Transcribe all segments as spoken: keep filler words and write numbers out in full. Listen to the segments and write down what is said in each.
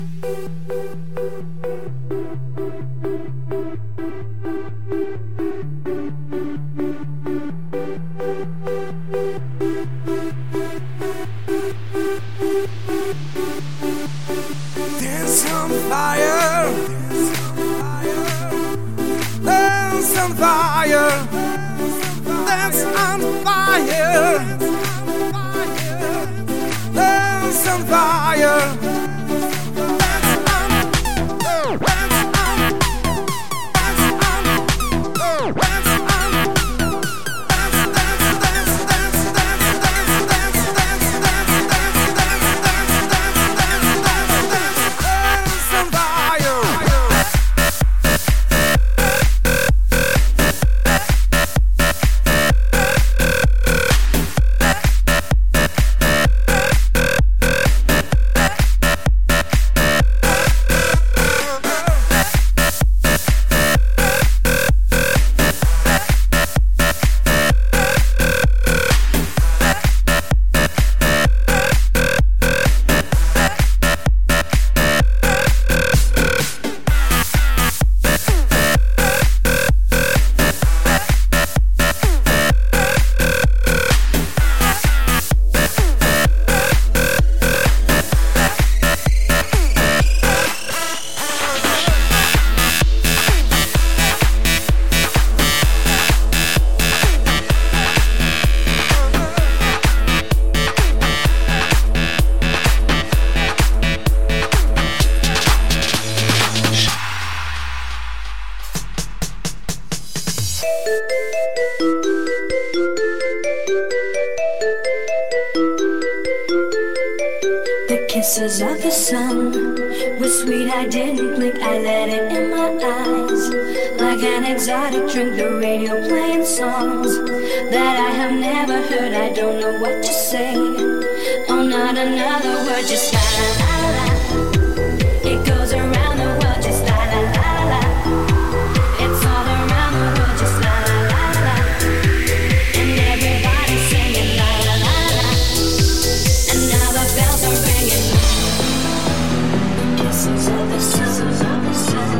Kisses of the sun were sweet, I didn't blink, I let it in my eyes. Like an exotic drink, the radio playing songs that I have never heard, I don't know what to say. Oh, not another word, just la la la la. It goes around the world, just la la la la. It's all around the world, just la la la la. And everybody's singing la la la la. And now the bells are ringing. Kisses of the sun, of the sun.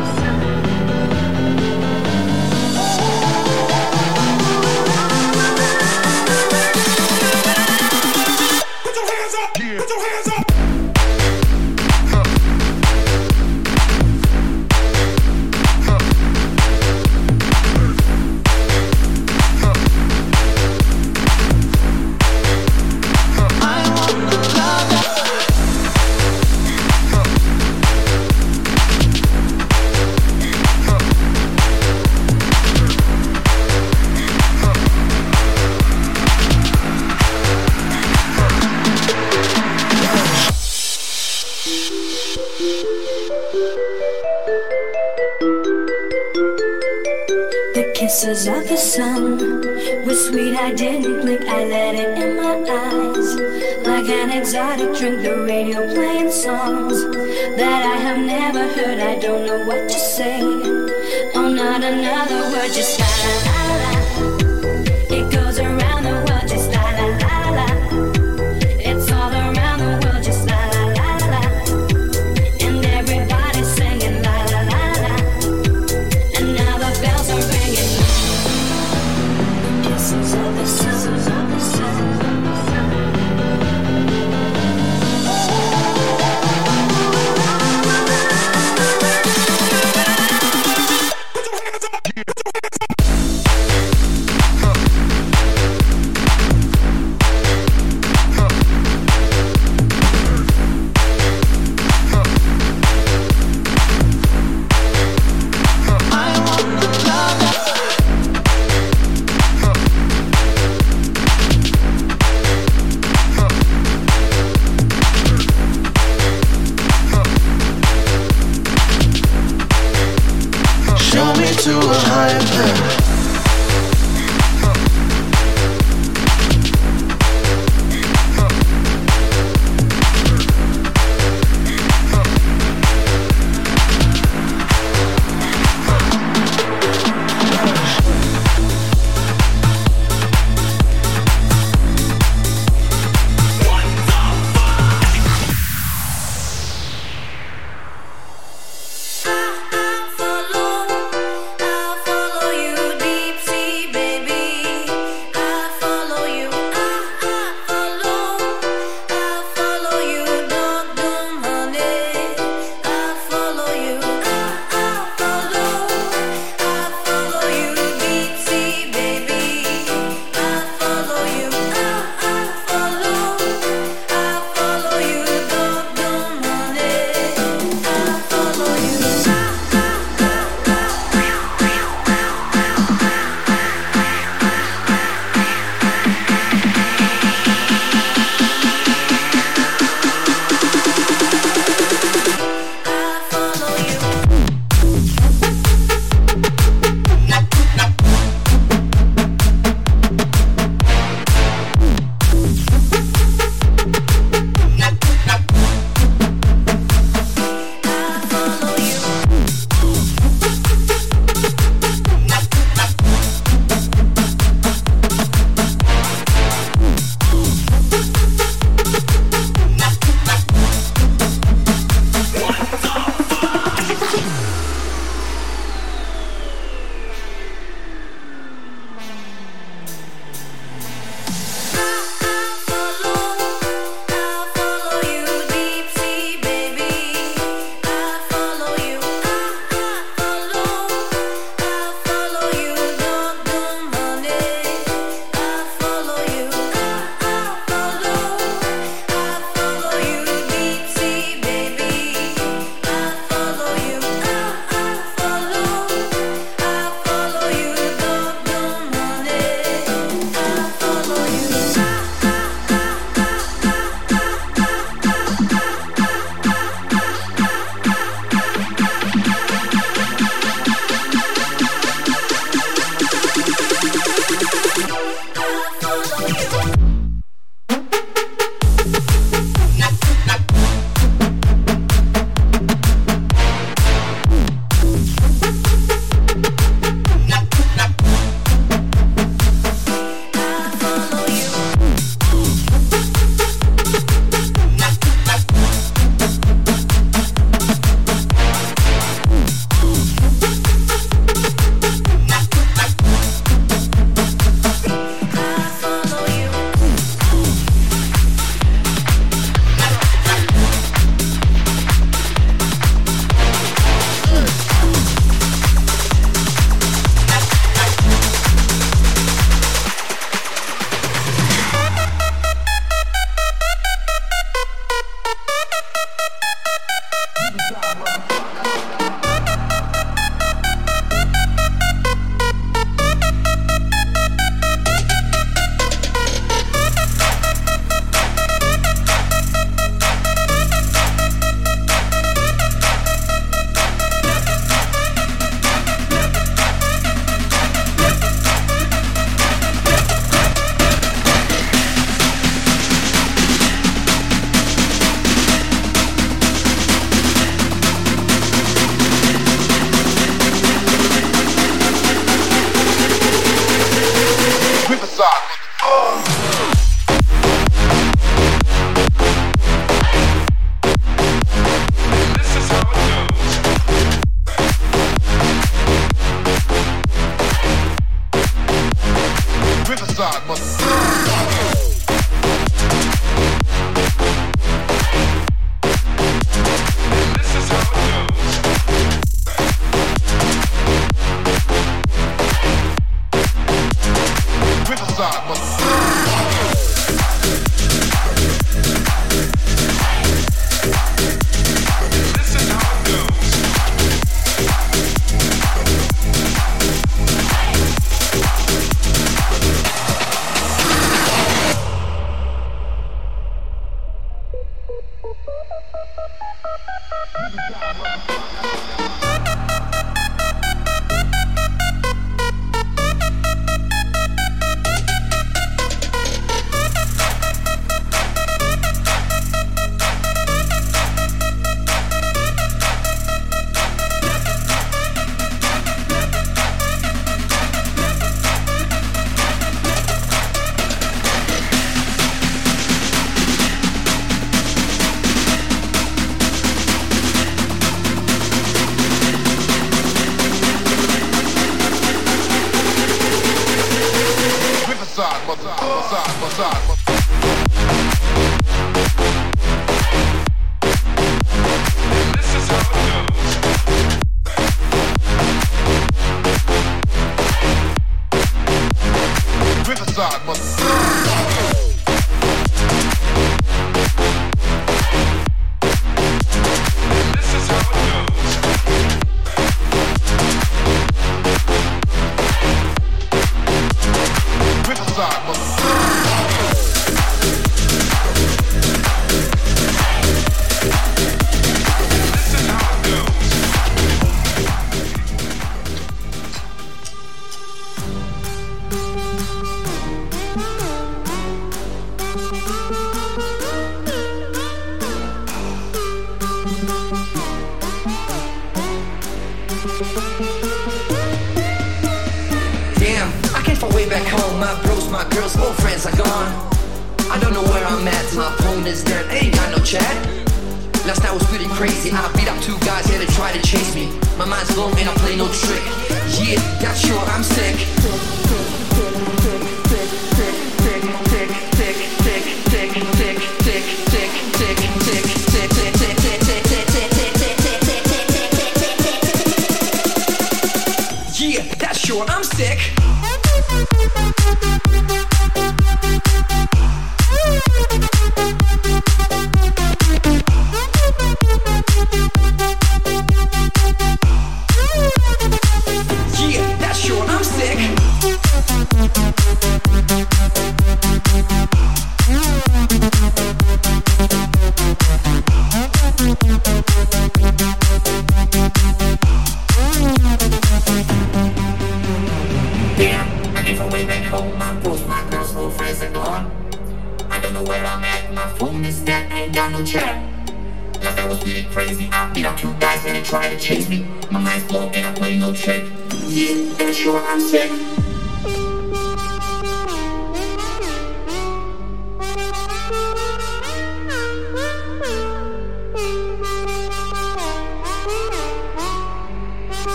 Put your hands up! Put your hands up! Kisses of the sun were sweet, I didn't blink, I let it in my eyes. Like an exotic drink, the radio playing songs that I have never heard, I don't know what to say. Oh, not another word, just la la la la. It goes around the world, just la la la la. It's all around the world, just la la la la. And everybody's singing la la la la. And now the bells are ringing. Kisses of the sun, of the sun. To a higher plane.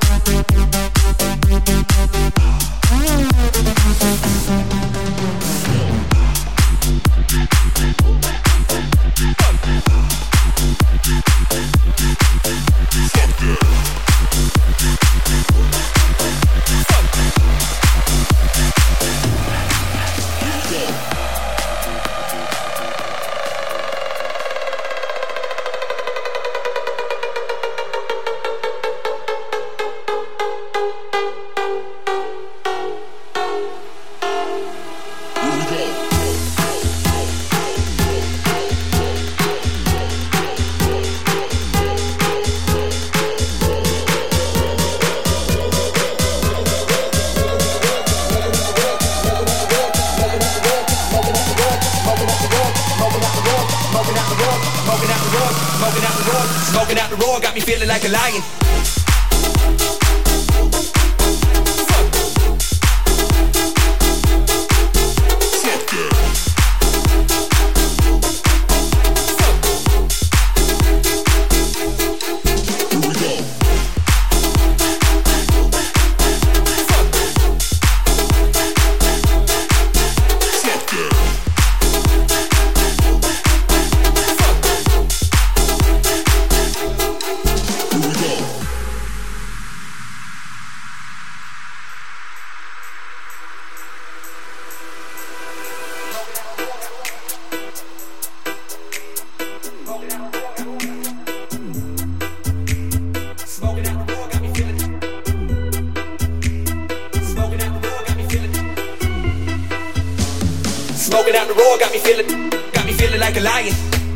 Smoking out the raw, got me feeling, got me feeling like a lion.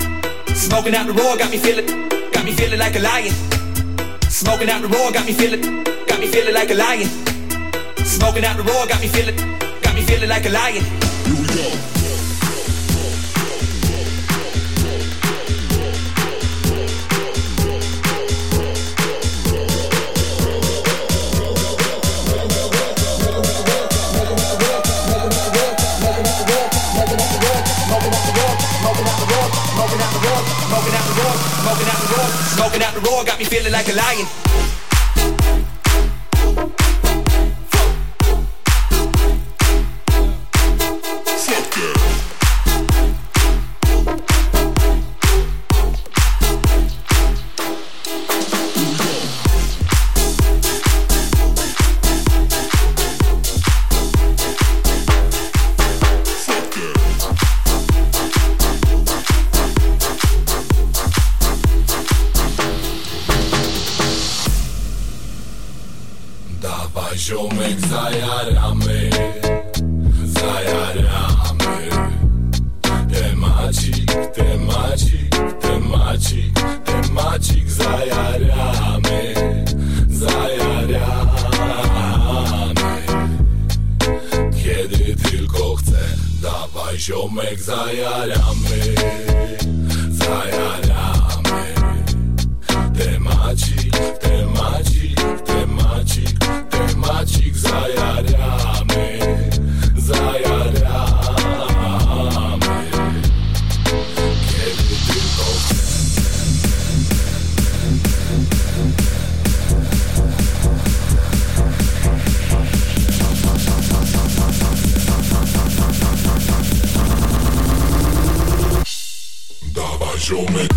Smoking out the raw, got me feeling, got me feeling like a lion. Smoking out the raw, got me feeling, got me feeling like a lion. Smoking out the raw, got me feeling, got me feeling like a lion. Here we go. Smoking out the raw, smoking out the raw, got me feeling like a lion. Ziomek, zajaramy, zajaramy. Temacik, temacik, temacik, temacik, zajaramy, zajaramy. Kiedy tylko chcę, dawaj ziomek, zajaramy, zajaramy. Temacik, temacik, temacik, temacik, zajaramy, zajaramy. Kiedy tylko chcę. Dawaj ziomek.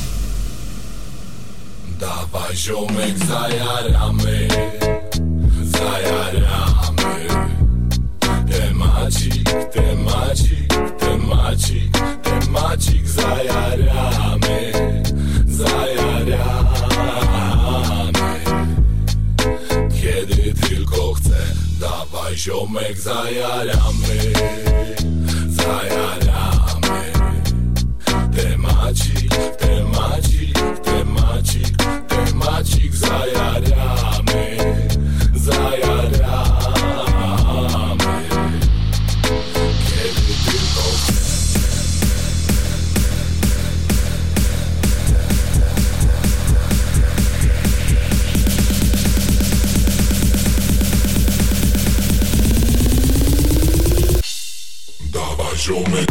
Dawaj ziomek, zajaramy, kiedy tylko chcę. Dawaj ziomek, zajaramy, zajaramy. Temacik, temacik, temacik, temacik, zajaramy, zajaramy. Kiedy tylko chcę. Dawaj ziomek.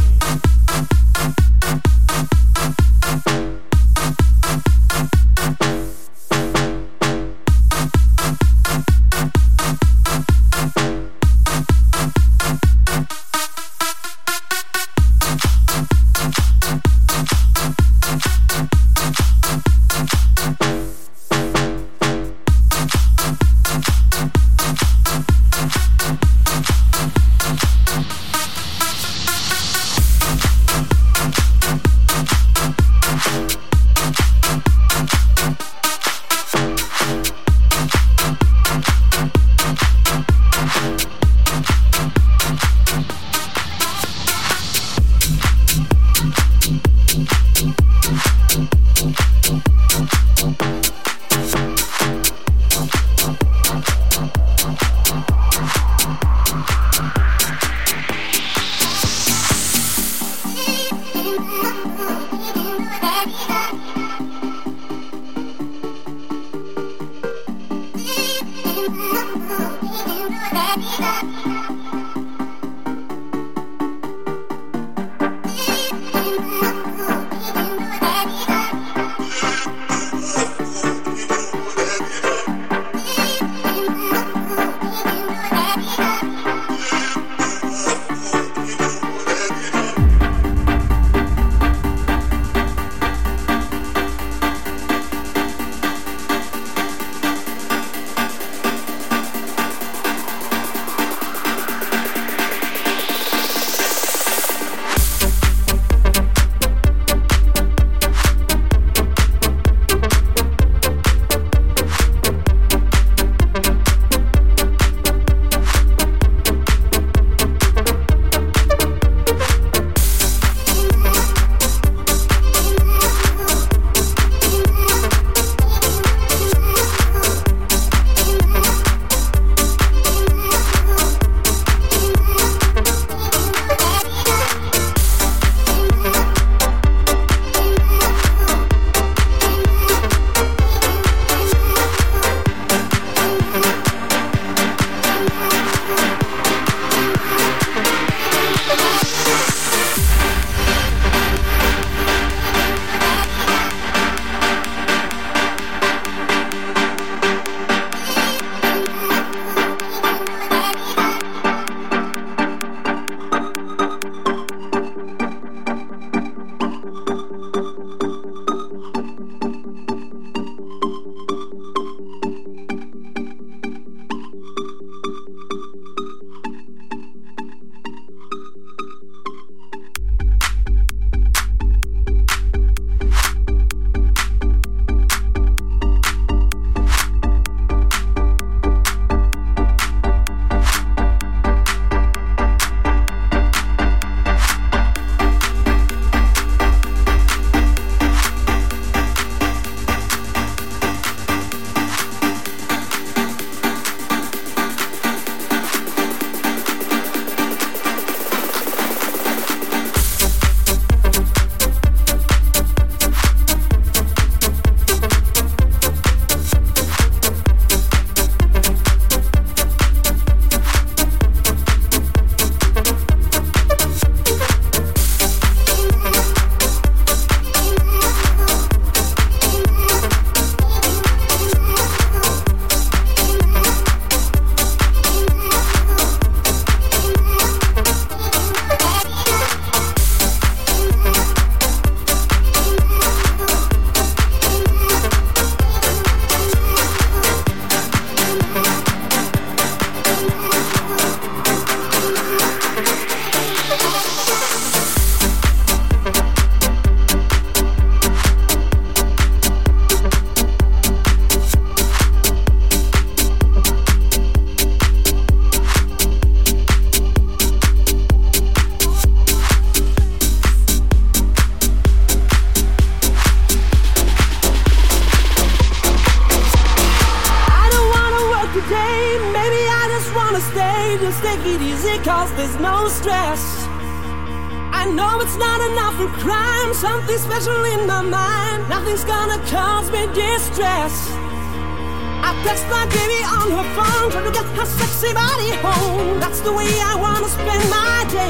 maybe I just wanna stay, just take it easy cause there's no stress. I know it's not enough for crime, something special in my mind, nothing's gonna cause me distress. I text my baby on her phone, trying to get her sexy body home. That's the way I wanna spend my day.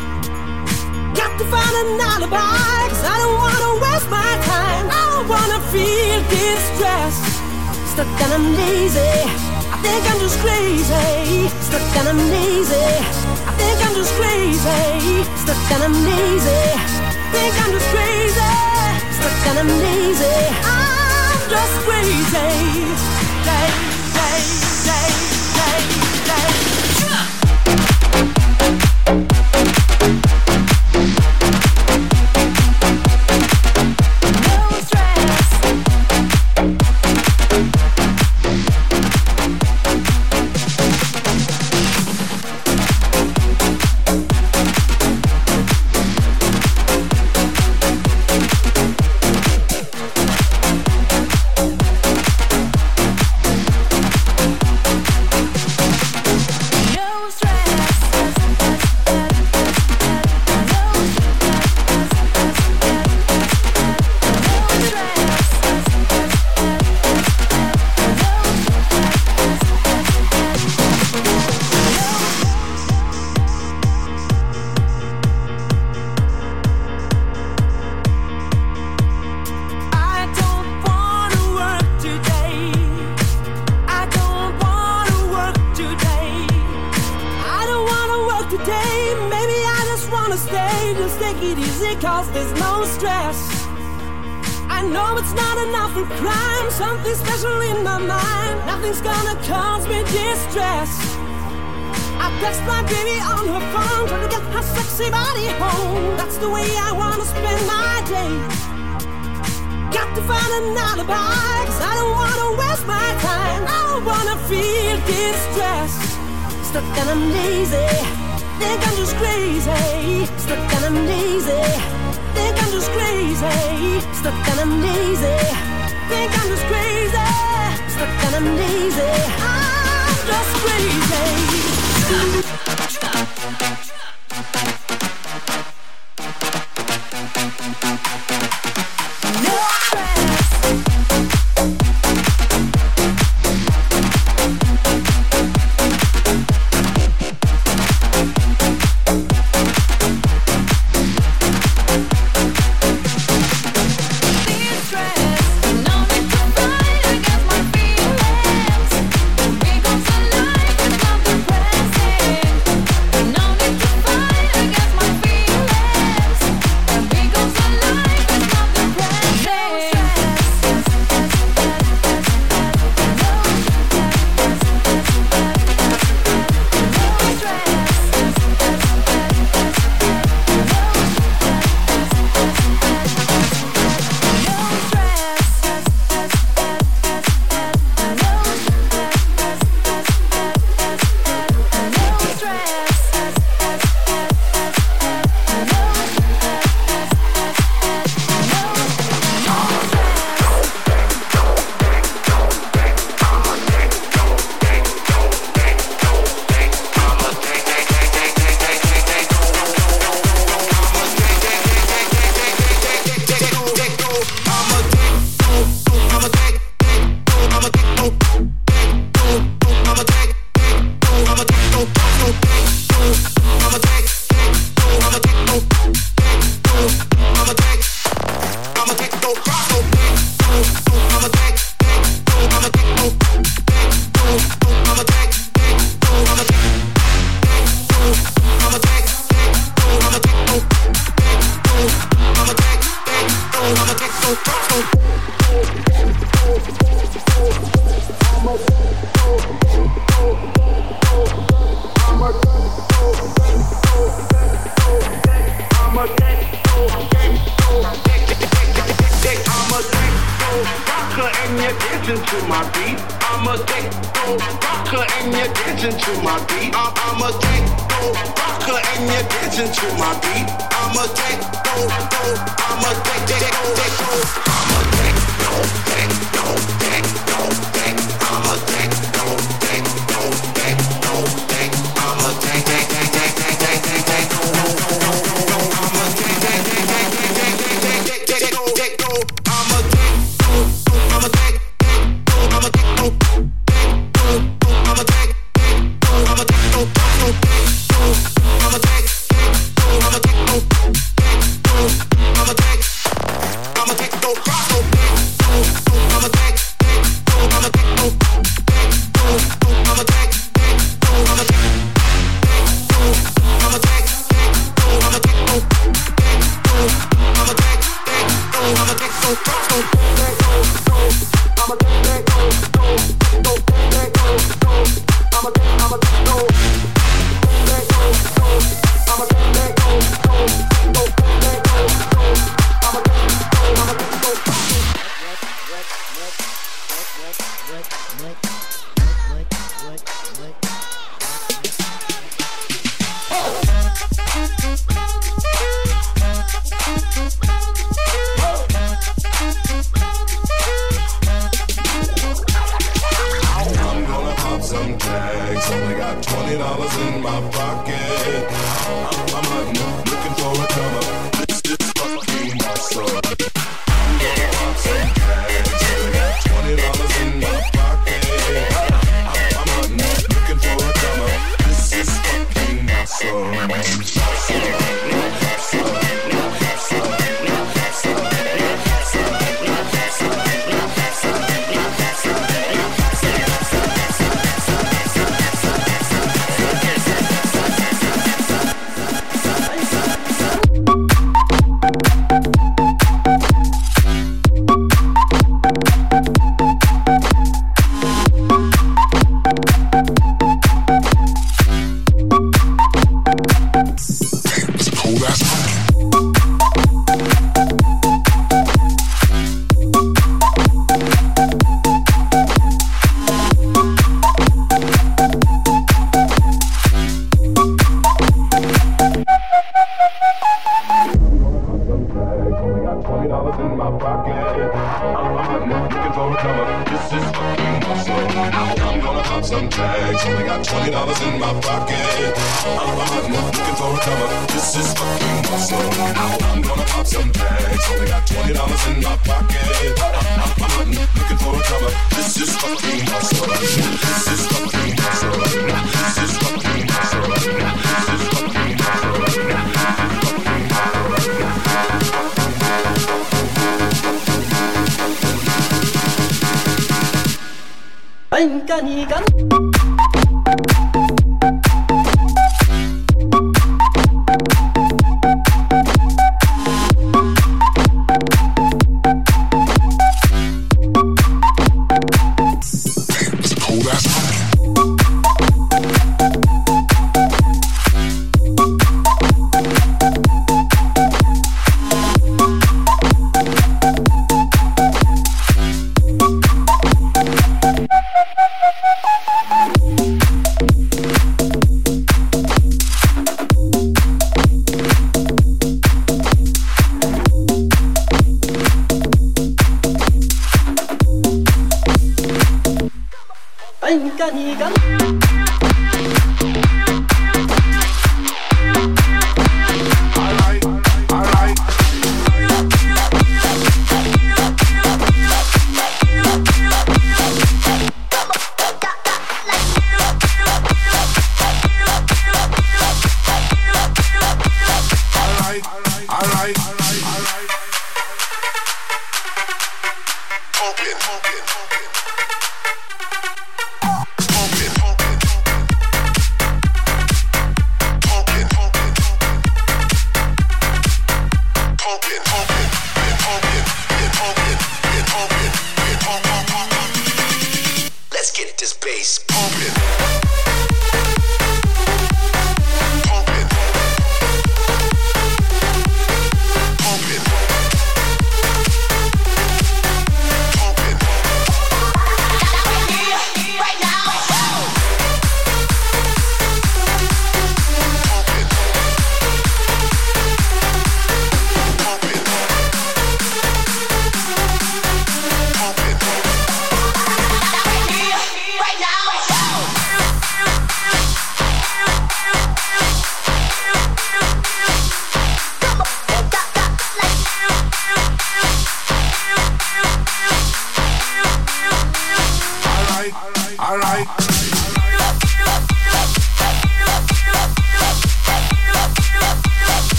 Got to find an alibi, cause I don't wanna waste my time. I don't wanna feel distress. Stuck and I'm lazy, I think I'm just crazy. Stuck and I'm lazy, I think I'm just crazy. Stuck and I'm lazy, think I'm just crazy. Stuck and I'm lazy, I'm just crazy. Day, day, day, day, day. I'm a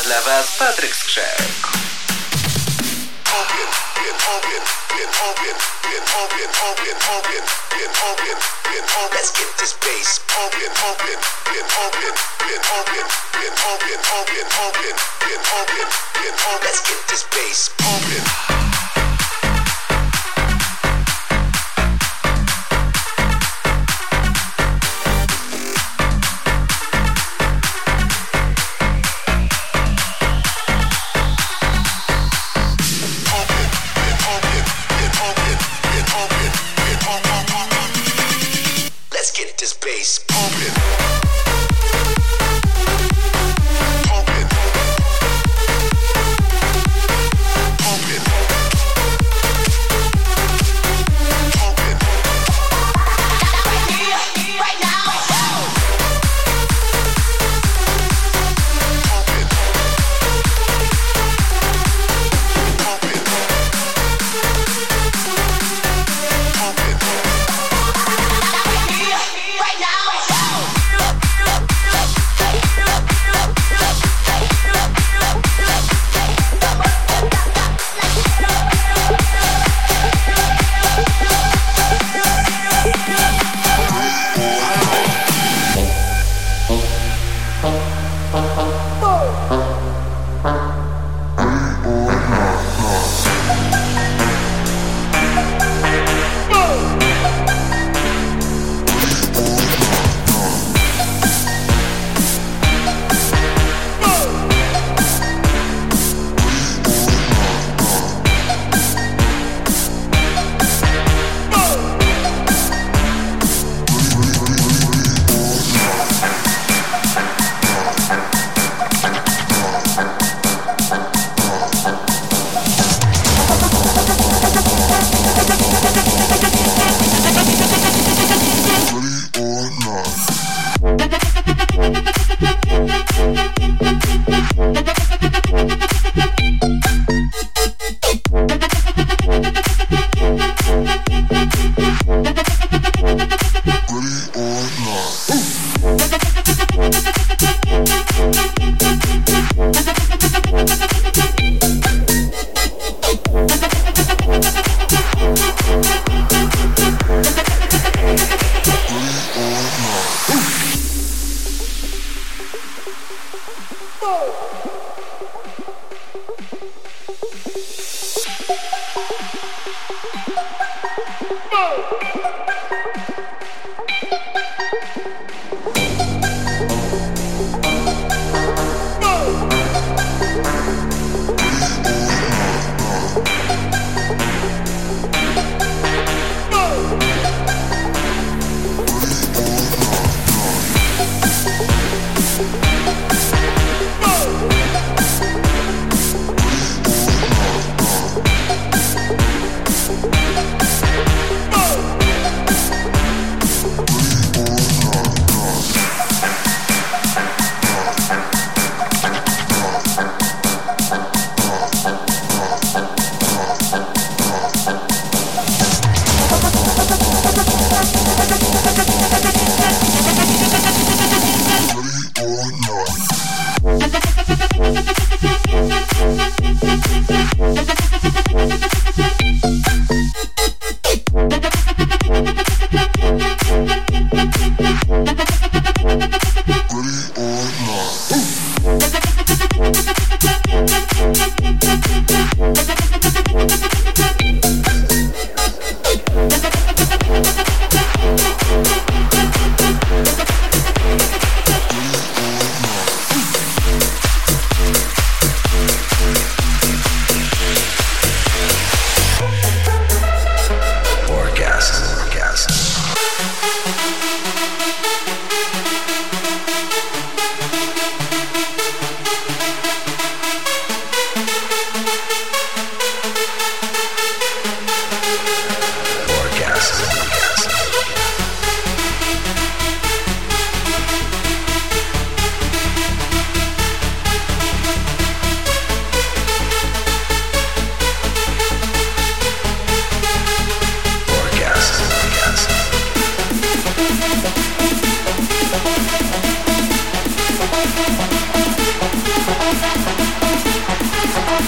dla Was Patryk Skrzek. Open, been open, been open, been open, open, open, been open, been open. Let's get this bass open, open, been open, been open, been open, open, open, been open, been open. Let's get this bass open. This bass pumping, pumping, pumping,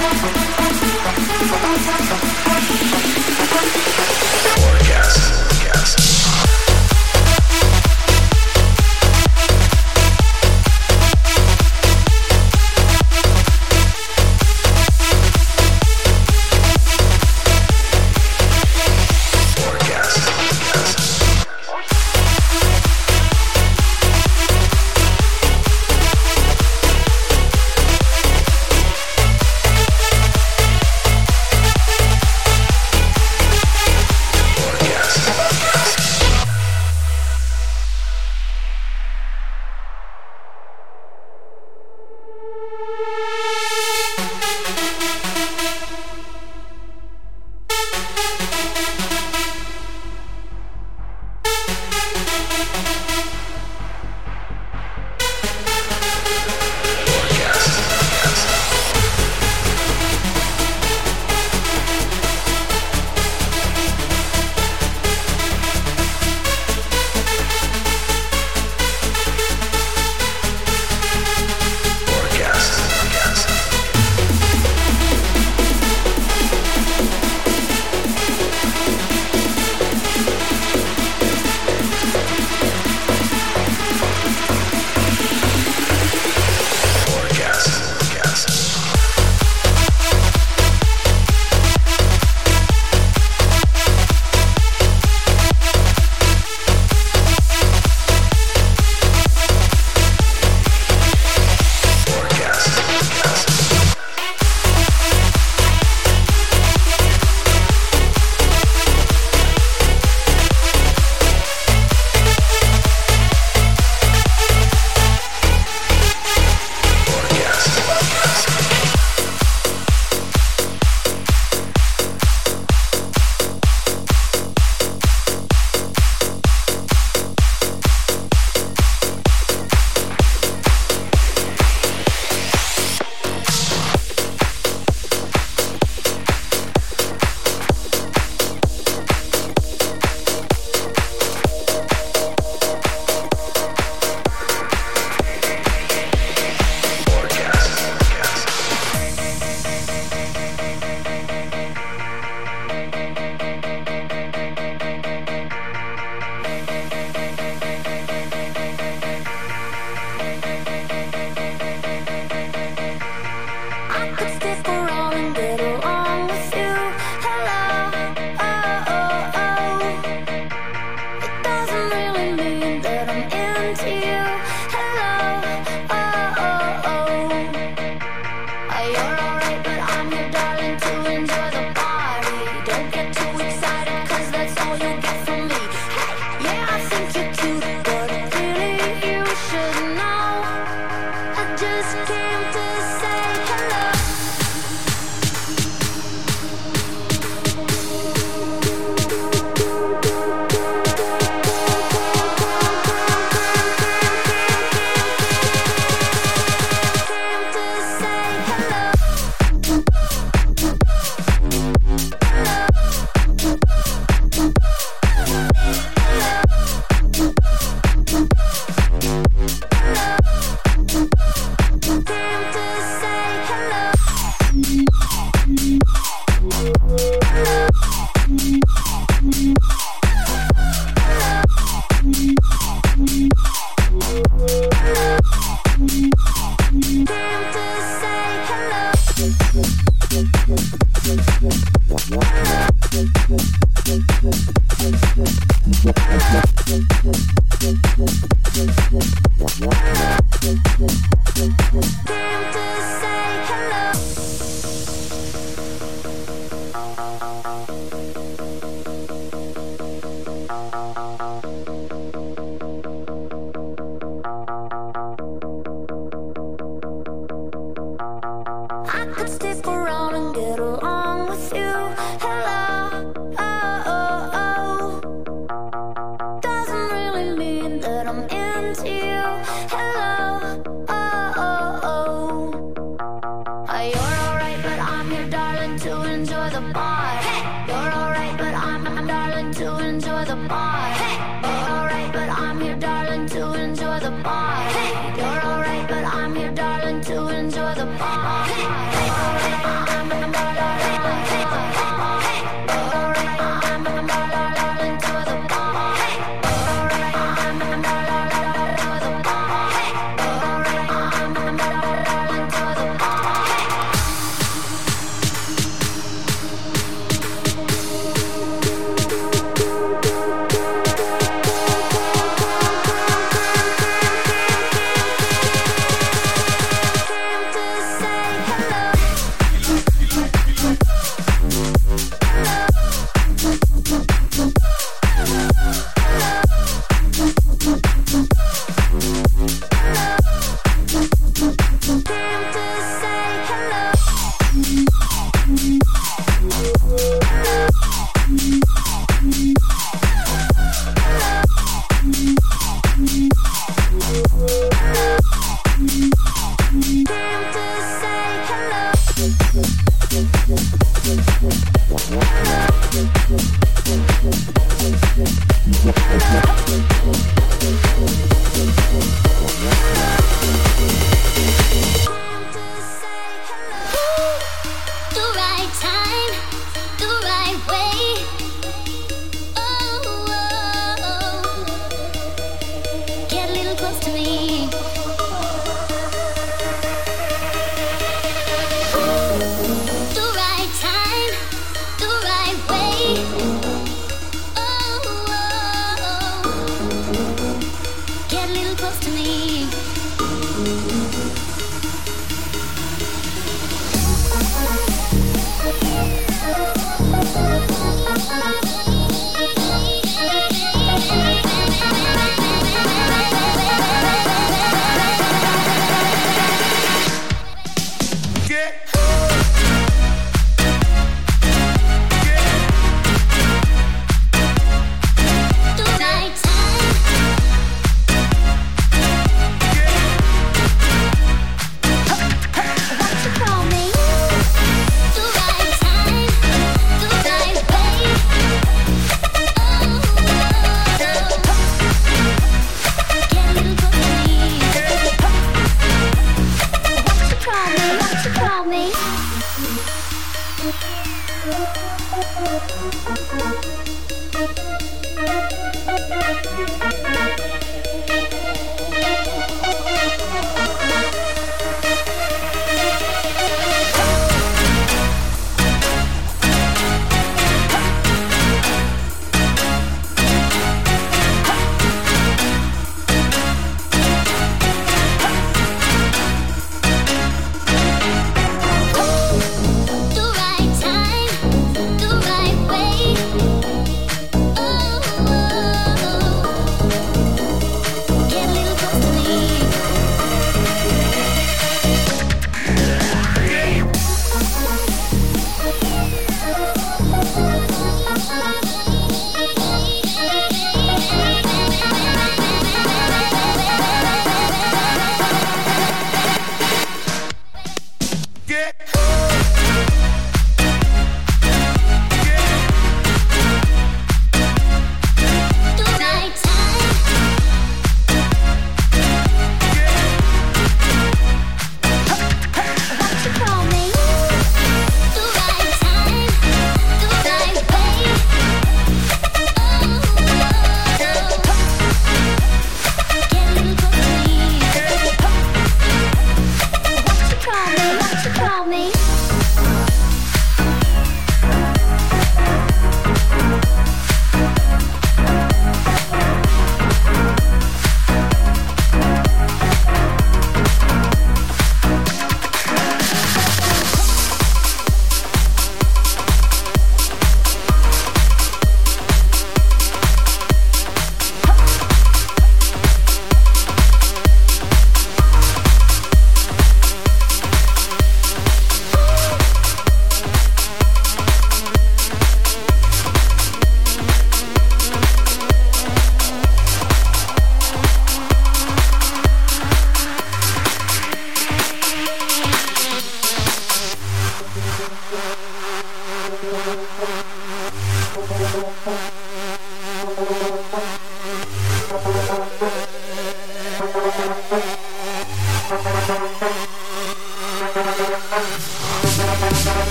You're alright, but I'm here, darling, to enjoy the party.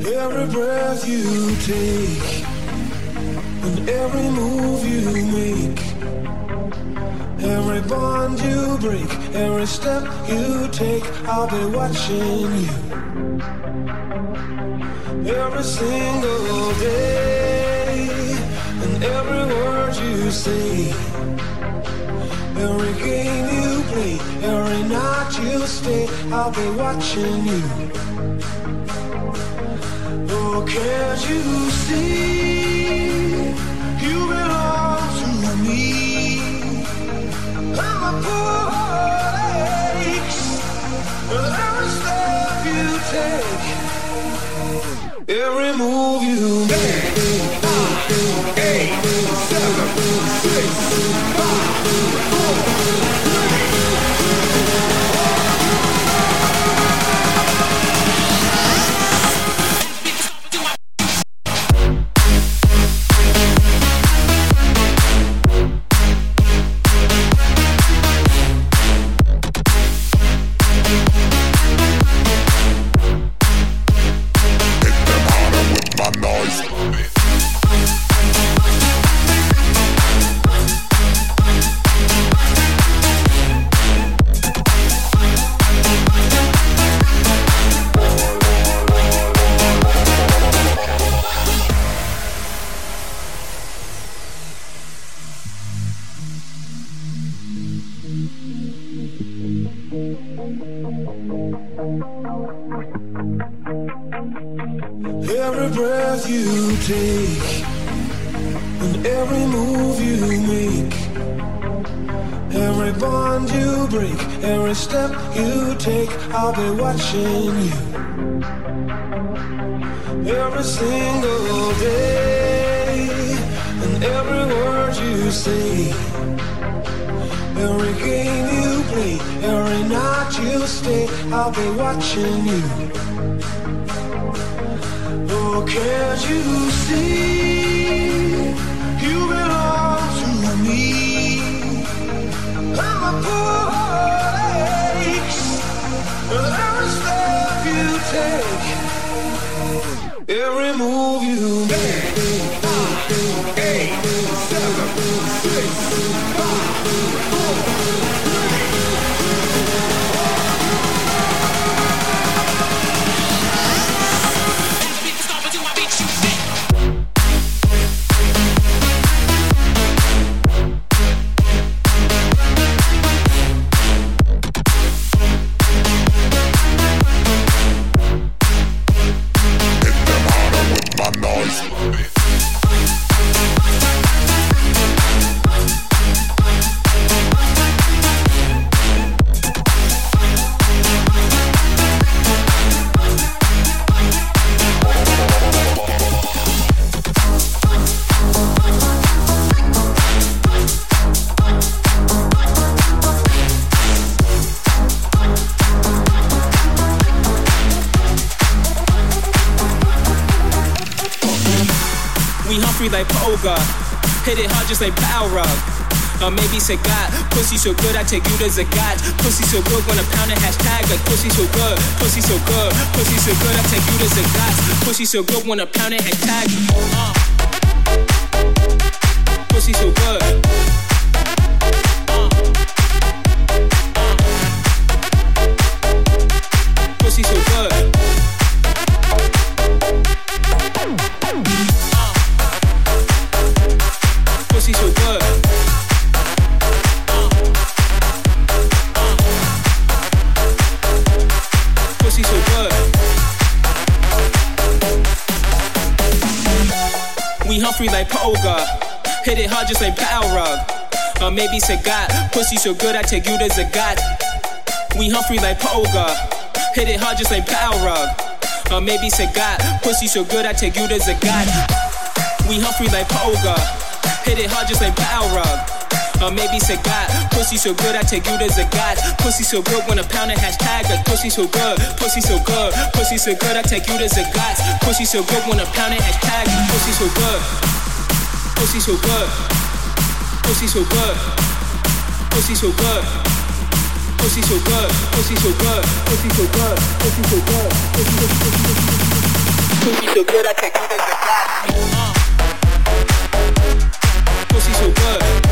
Every breath you take and every move you make, every bond you break, every step you take, I'll be watching you. Every single day and every word you say, every game you play, every night you stay, I'll be watching you. Oh, can't you see you belong to me? And my poor heart aches with every step you take, every move you make. Five, eight, seven, six, five, four, every breath you take and every move you make, every bond you break, every step you take, I'll be watching you. Every single day and every word you say, every game you play, every night you stay, I'll be watching you. Oh, can't you see you belong to me? And my poor heart aches with every step you take, every move you make. Five, eight, seven, six, five, four, like Poga, hit it hard just like Power Rug. Or maybe say God, pussy so good I take you to the gods. Pussy so good when I pound a hashtag like pussy so good, pussy so good, pussy so good I take you to the gods. Pussy so good when I pound a hashtag. Uh. Pussy so good. Uh. Uh. Pussy so good. Pussy so good. Uh, uh, pussy so good. We Humphrey like Poga, hit it hard just like Power Rug. Or maybe say God, pussy so good I take you to the God. We Humphrey like Poga, hit it hard just like Power Rug. Or maybe say God, pussy so good I take you to the God. We Humphrey like Poga, hit it hard just like Power Rug. Or maybe say God, pussy so good I take you to the gods. Pussy so good when I pound a hashtag like pussy so good, pussy so good, pussy so good I take you to the gods. Pussy so good when I pound a hashtag, pussy so good, pussy so good, pussy so good, pussy so good, pussy so good, pussy so good, pussy so good, pussy so good, pussy so good, pussy so good. Pussy so good, I take you to the God. Pussy so good.